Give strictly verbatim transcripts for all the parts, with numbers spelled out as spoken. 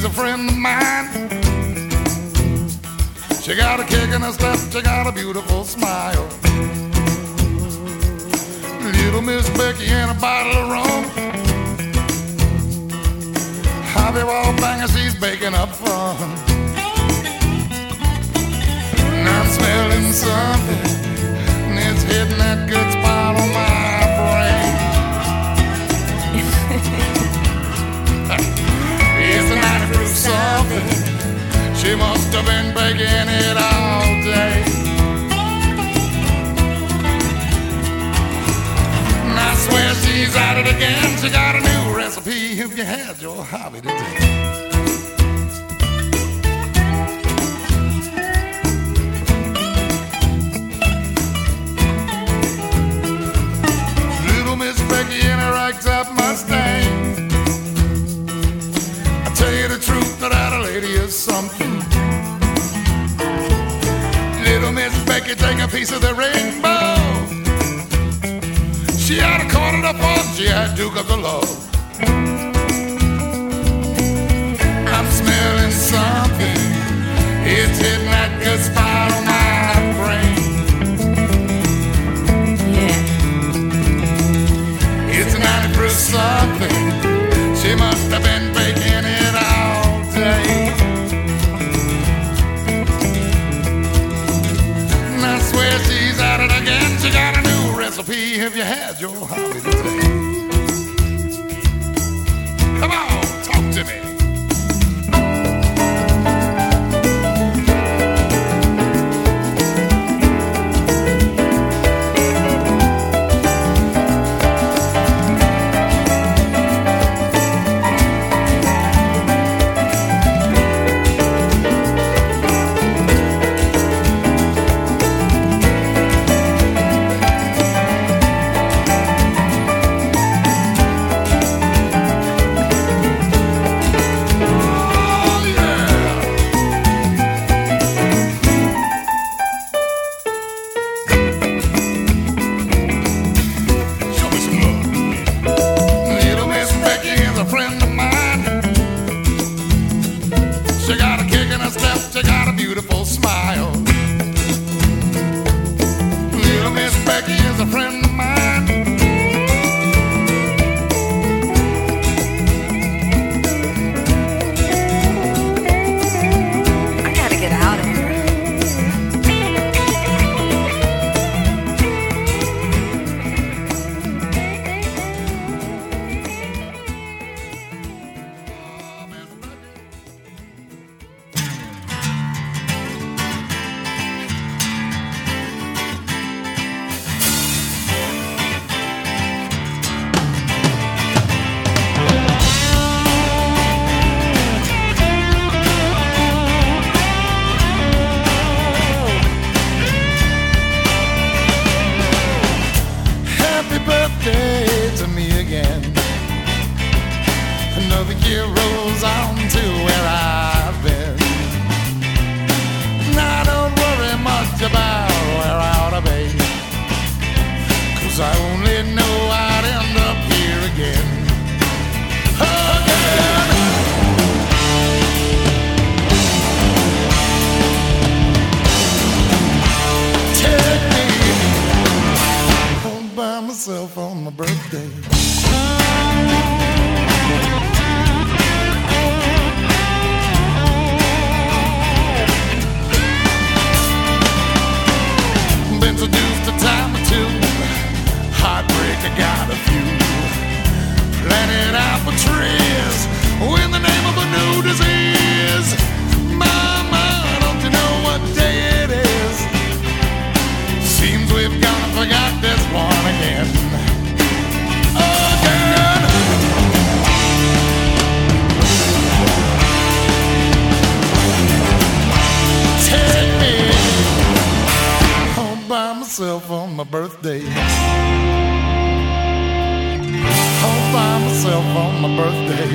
a friend of mine. She got a kick in her step, she got a beautiful smile. Little Miss Becky and a bottle of rum. How they all banging, she's baking up fun. And I'm smelling something, and it's hitting that good spot on my brain. It's a ninety proof something. She must have been baking it all day. And I swear she's at it again. She got a new recipe if you had your hobby today. Little Miss Becky in a racked up Mustang. I tell you the truth, that that lady is something. Little Miss Becky, take a piece of the rainbow. She had a quarter to four, she had Duke of the Low. I'm smelling something, it's hitting that good spot on my brain. Yeah. It's a ninety proof something, she must have been baking it all day. And I swear she's at it again, she got a new recipe if you had your hobby today. Come on, talk to me. On my birthday, all by myself on my birthday.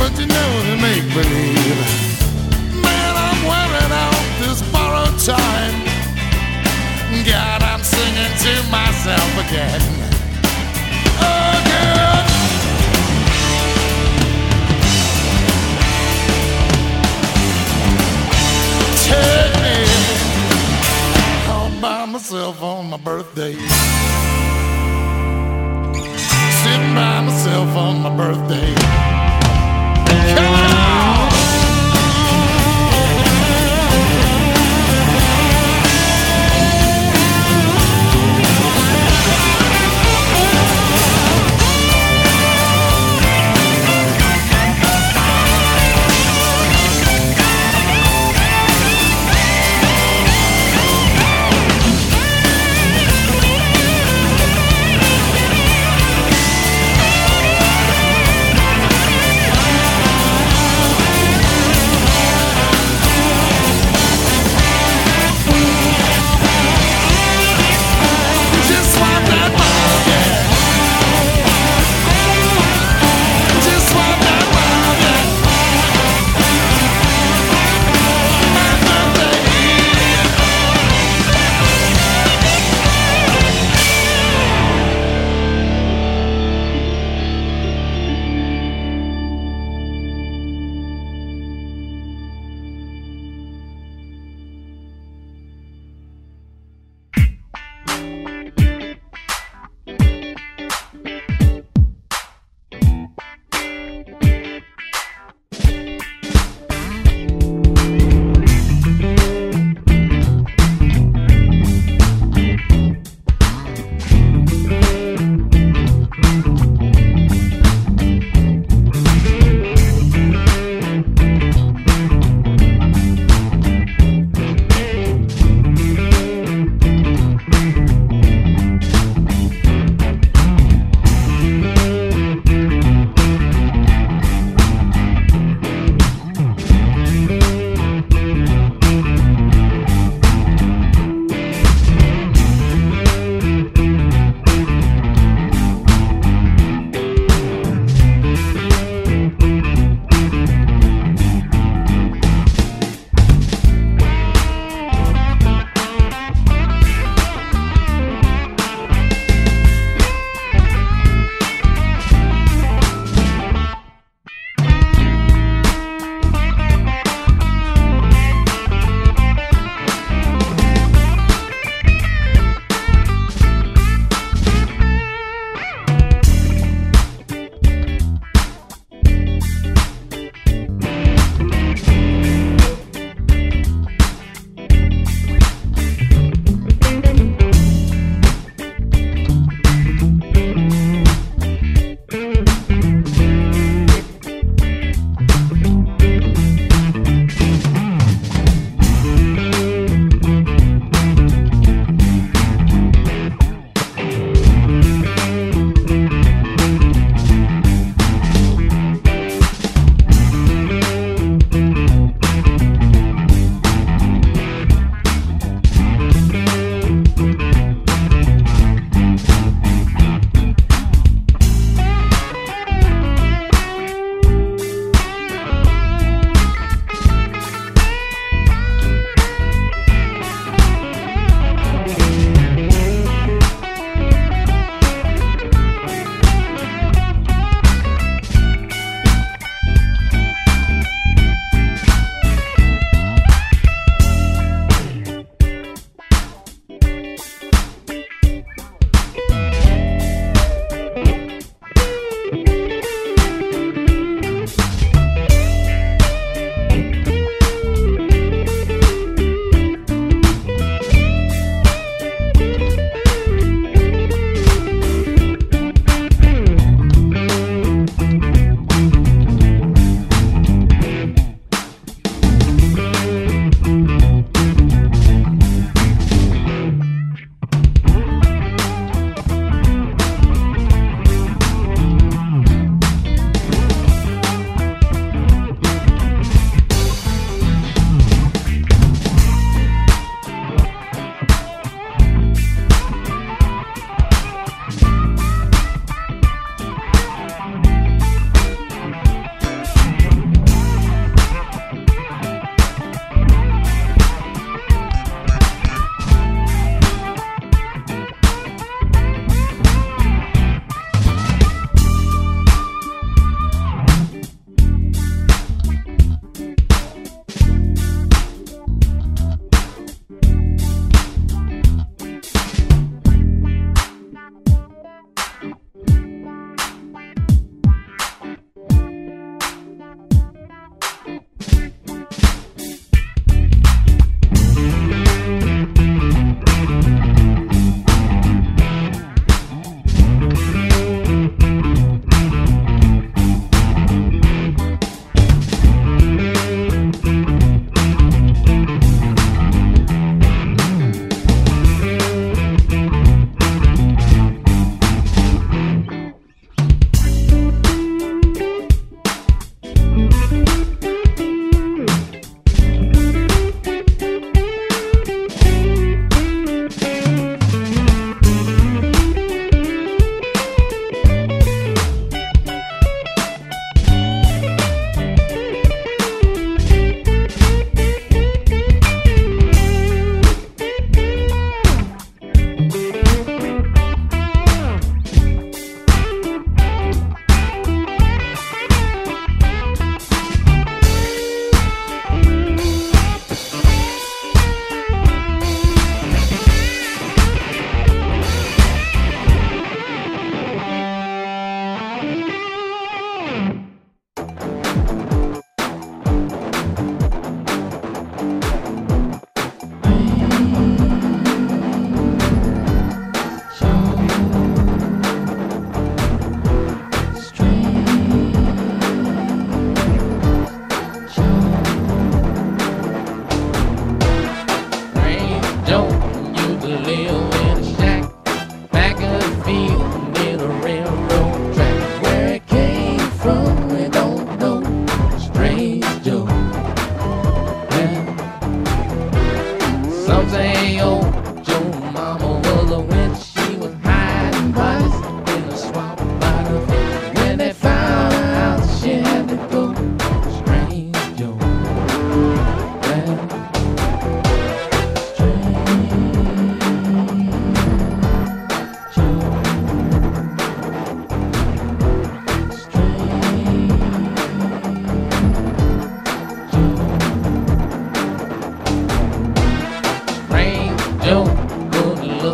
but you know to make believe. Man, I'm wearing out this borrowed time. God, I'm singing to myself again. Again. Take me all by myself on my birthday. Sitting by myself on my birthday. Come on!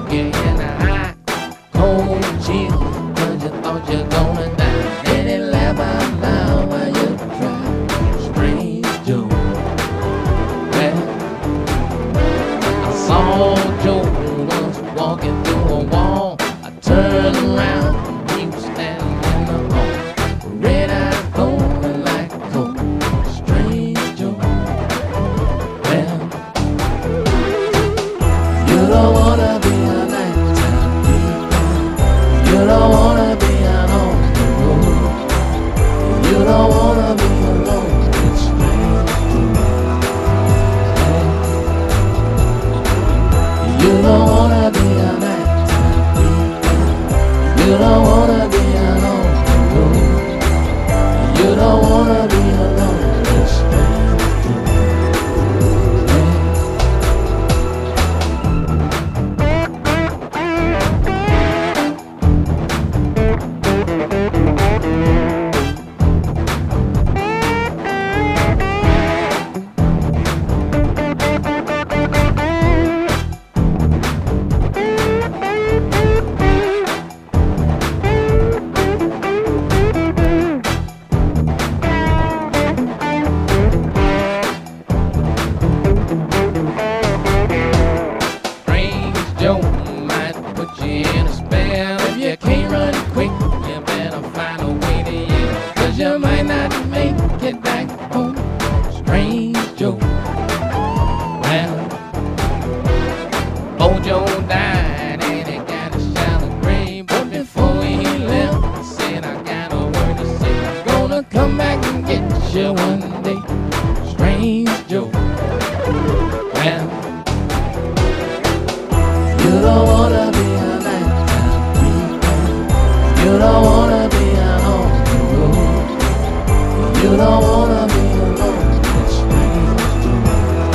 took you in a high, cold chill, cause you thought you're gonna die. Then it laughed out loud while you tried. Strange Joe. Well, I saw Joe once walking through a wall. I turned around, he was standing in the hall. Red eyes glowing like coal. Strange Joe. Well, you don't wanna be a nighttime creep. You don't wanna be out on the road. You don't wanna be alone with strange Joe. You don't wanna be a nighttime creep. You don't wanna be out on the road. You don't wanna be alone with strange Joe. Strange Joe might put you in a spell. If you can't run quick, you better find a way to yell, cause you might not make it back home. Strange Joe. Well, old Joe died and he got a shallow grave, but before he left, he said, I got a word to say. I'm gonna come back and get you one day. Strange Joe. Well, you don't wanna be a nighttime creep. You don't wanna be out on the road. You don't wanna be alone with strange Joe.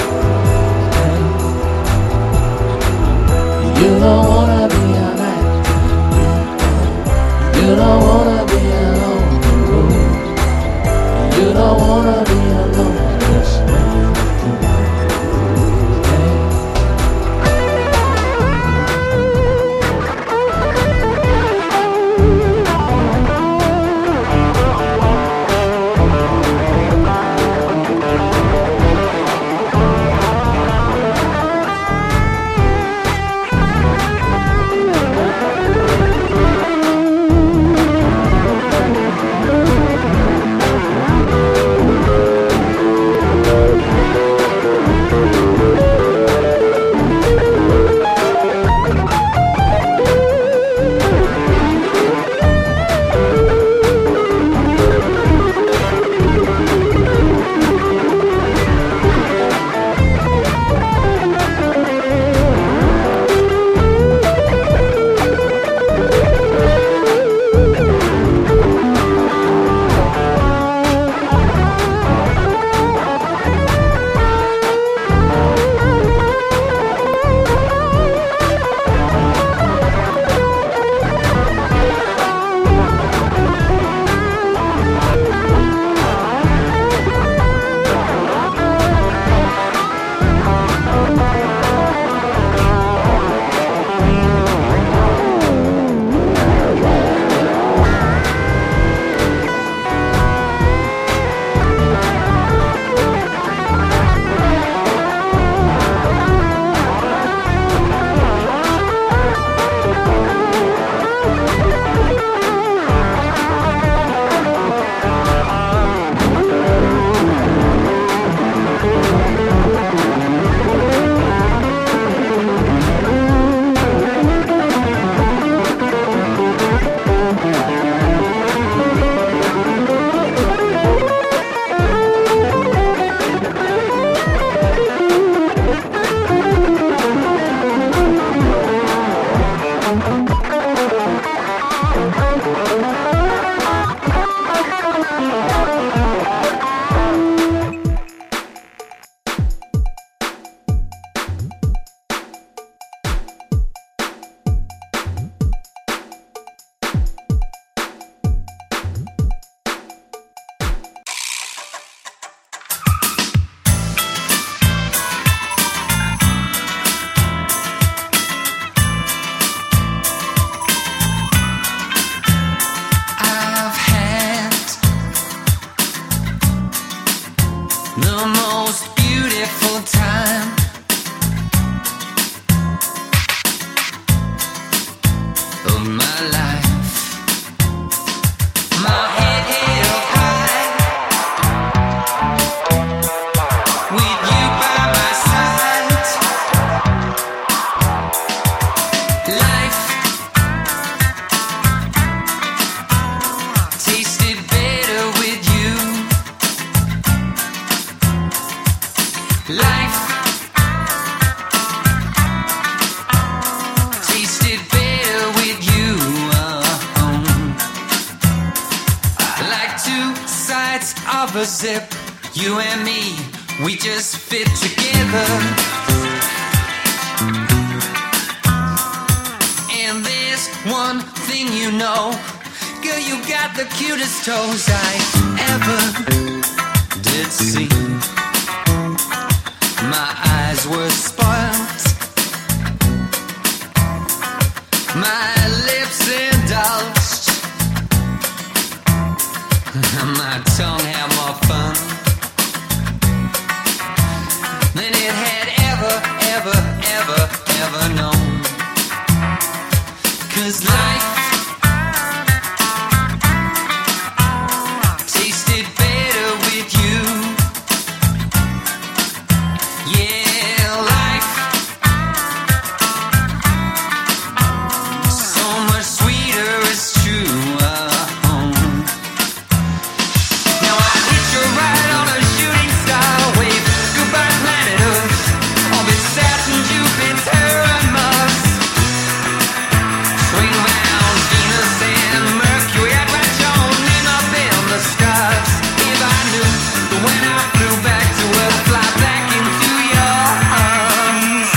You don't wanna be a nighttime creep. You don't wanna be out on the road. You don't wanna be alone with strange Joe. of a zip. You and me, we just fit together. And there's one thing you know, girl, you got the cutest toes I ever did see. My eyes were spoiled, my lips indulged, my tongue had more fun than it had ever, ever, ever, ever known. 'Cause life tasted better with you. Yeah, life so much sweeter, it's true. Uh-huh. Now I hit you right on a shooting star wave. Goodbye planet Earth, orbit Saturn, Jupiter and Mars. Swing round Venus and Mercury, I'd write your name up in the stars. If I knew that when I flew back to Earth, fly back into your arms.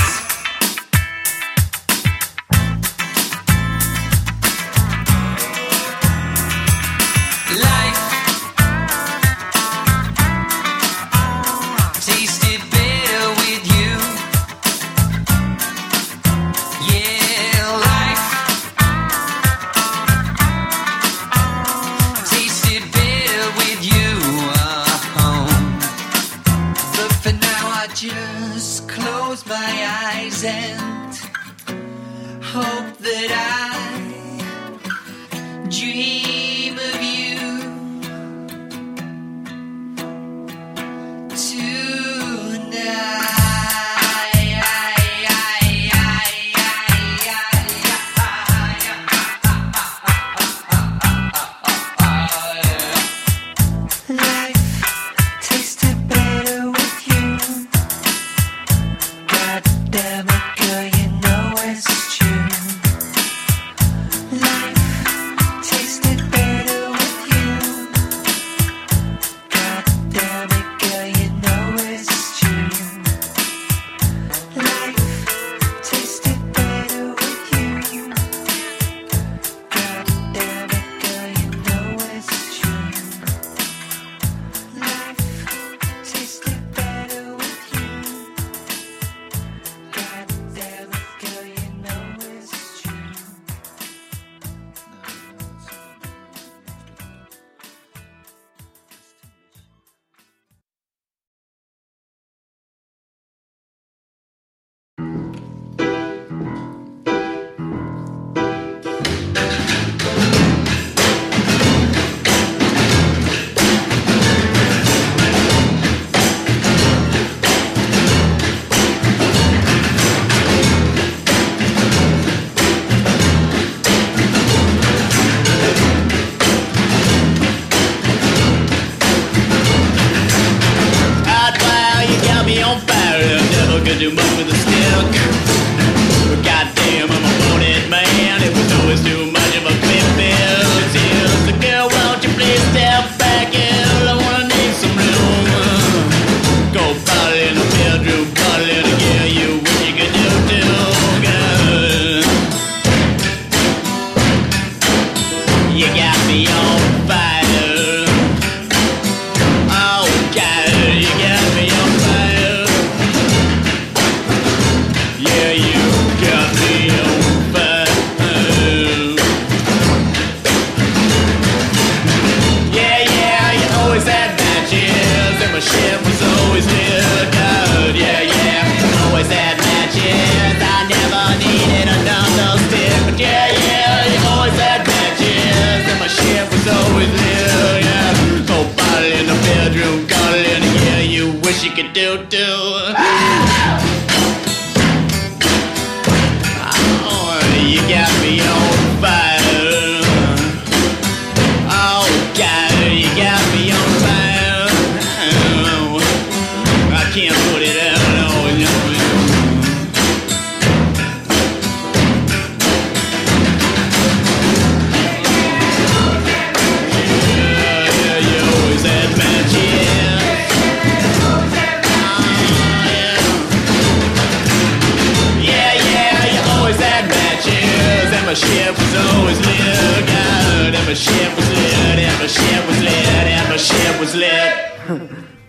Life tasted better with you. Yeah, life tasted better with you. Uh-huh. But for now I just close my eyes and hope that I dream of you tonight. Life tasted better with you. God damn it, girl, you know it's true. Life tasted better with you. God damn it, girl, you know it's true. Life tasted better with you. God damn it, girl, you know it's true. Life tasted better with you. God damn it, girl, you know it's true. Hot fire, you got me on fire. Never could do much with a stick. But goddamn, I'm a wanted man. It was always too much of a clip bill. So girl, won't you please step back in? I wanna need some room. Go bottle in the bedroom, bottle in the girl. You wish you could do too, girl. You got me on fire. Oh God, you got me on fire. Yeah, you got me on fire. Yeah, yeah, you always had matches, and my shit was always real good. Yeah, yeah, always had matches. I never needed another stick. But yeah, yeah, you always had matches, and my shit was always real. Yeah, go bottle in the bedroom, got it in the yeah, you wish you could do too. Oh, you got me on fire. Oh God, you got me on fire. I can't put it out. No, no, no. Yeah, yeah, you always had matches. my ship was always lit. God, and my ship was lit, and my ship was lit, and my ship was lit.